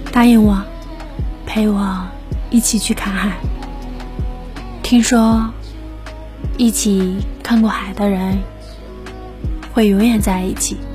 答应我，陪我一起去看海。听说一起看过海的人会永远在一起。